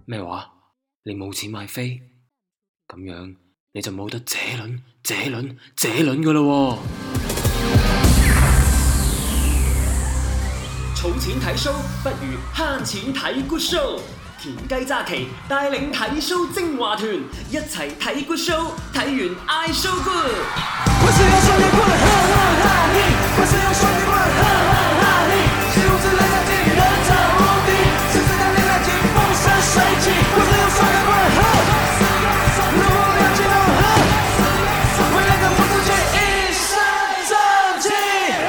咩話？你冇錢買飛？咁樣你就冇得這輪㗎喇喎！ 儲錢睇 show 不如慳錢睇 good show。田雞揸旗帶領睇 show 精華團，一齊睇 good show， 睇完嗌 show good。我是要雙截棍，哈哈哈嘿！我是要雙截棍，哈哈哈嘿！是如此來相見，人潮無敵，是自當年來勁風生水起。我是要雙截棍，哈，如亮起頭，哈，為了跟不出去，一身正氣。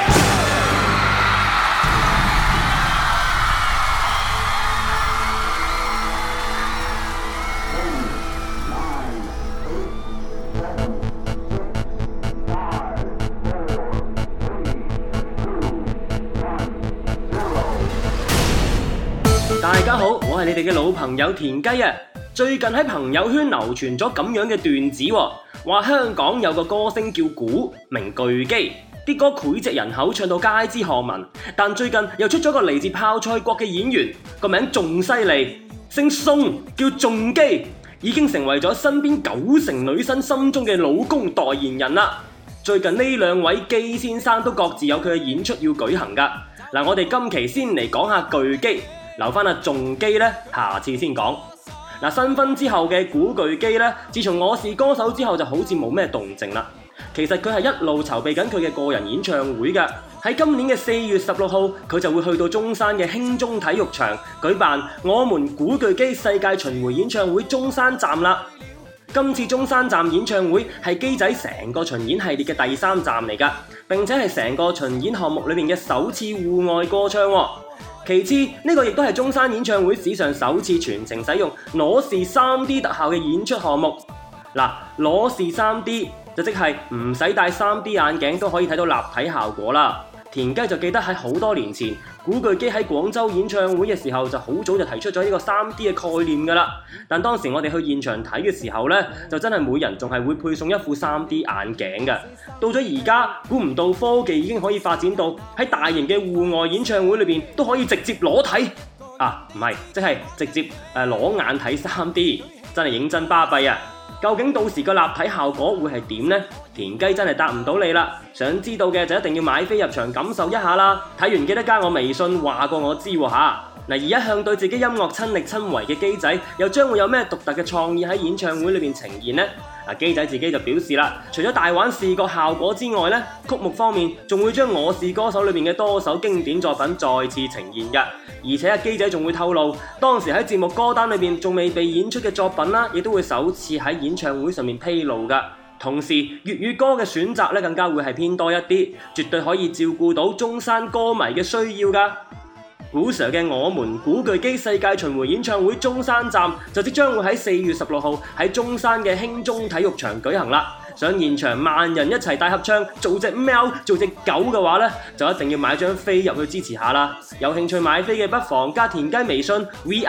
大家好，我係你哋嘅老朋友田雞啊！最近喺朋友圈流傳咗咁樣嘅段子，話香港有個歌星叫古，名巨基，啲歌膾炙人口，唱到街知巷聞。但最近又出咗個嚟自泡菜國嘅演員，個名仲犀利，姓宋，叫仲基，已經成為咗身邊90%女生心中嘅老公代言人啦。最近呢兩位基先生都各自有佢嘅演出要舉行㗎。嗱，我哋今期先嚟講下巨基。留翻阿仲基呢，下次先講。新婚之後嘅古巨基呢，自從我是歌手之後就好似冇咩動靜啦。其實佢係一路籌備緊佢嘅個人演唱會㗎。喺今年嘅4月16號，佢就會去到中山嘅興中體育場舉辦我們古巨基世界巡迴演唱會中山站啦。今次中山站演唱會係基仔成個巡演系列嘅第3站嚟㗎，並且係成個巡演項目裏面嘅首次戶外歌唱喎。其次，呢個亦都係中山演唱會史上首次全程使用裸視 3D 特效嘅演出項目。裸視 3D 就即係唔使戴 3D 眼鏡都可以睇到立體效果啦。田雞就記得喺好多年前，古巨基喺廣州演唱會嘅時候就好早就提出咗呢個 3D 嘅概念㗎啦。但當時我哋去現場睇嘅時候呢，就真係每人仲係會配送一副 3D 眼鏡㗎。到咗而家，估唔到科技已經可以發展到喺大型嘅戶外演唱會裏面都可以直接裸睇唔係，即係直接裸眼睇 3D， 真係認真巴閉啊！究竟到時個立體效果會係點呢？田雞真係答唔到你啦！想知道嘅就一定要買飛入場感受一下啦！睇完記得加我微信話過我知喎嚇。而一向對自己音樂親力親為嘅基仔，又將會有咩獨特嘅創意喺演唱會裏面呈現呢？基仔自己就表示啦，除咗大玩視覺效果之外呢，曲目方面仲會將《我是歌手》裏面嘅多首經典作品再次呈現㗎。而且基仔仲會透露，當時喺節目歌單裏面仲未被演出嘅作品啦，亦都會首次喺演唱會上面披露㗎。同時粵語歌嘅選擇咧，更加會係偏多一啲，絕對可以照顧到中山歌迷嘅需要㗎。古 Sir 嘅我們古巨基世界巡迴演唱會中山站就即將會喺4月16號喺中山嘅興中體育場舉行啦。想現場萬人一齊大合唱，做隻貓做隻狗嘅話呢，就一定要買張飛入去支持下啦。有興趣買飛嘅不妨加田雞微信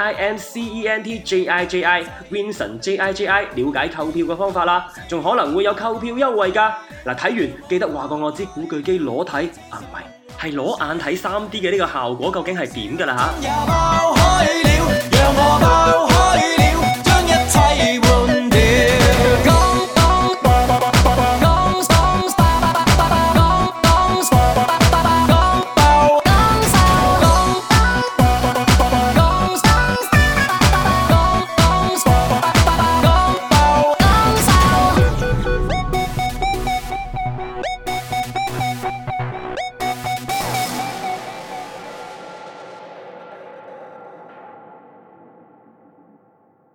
VINCENTJIJI Vincent JIJI 了解購票嘅方法啦，仲可能會有購票優惠㗎。睇完記得話過我知古巨基裸睇唔係裸眼睇 3D 嘅呢個效果究竟係點㗎啦嚇。